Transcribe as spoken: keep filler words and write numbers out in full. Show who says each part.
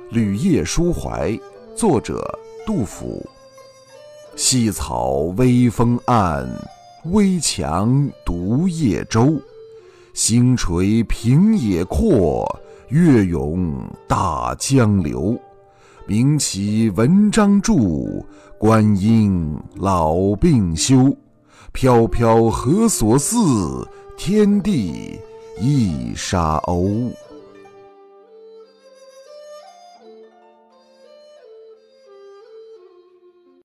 Speaker 1: 旅夜书怀，作者杜甫。细草微风岸，危樯独夜舟。星垂平野阔，月涌大江流。名岂文章著，观音老病休。飘飘何所似，天地一沙鸥。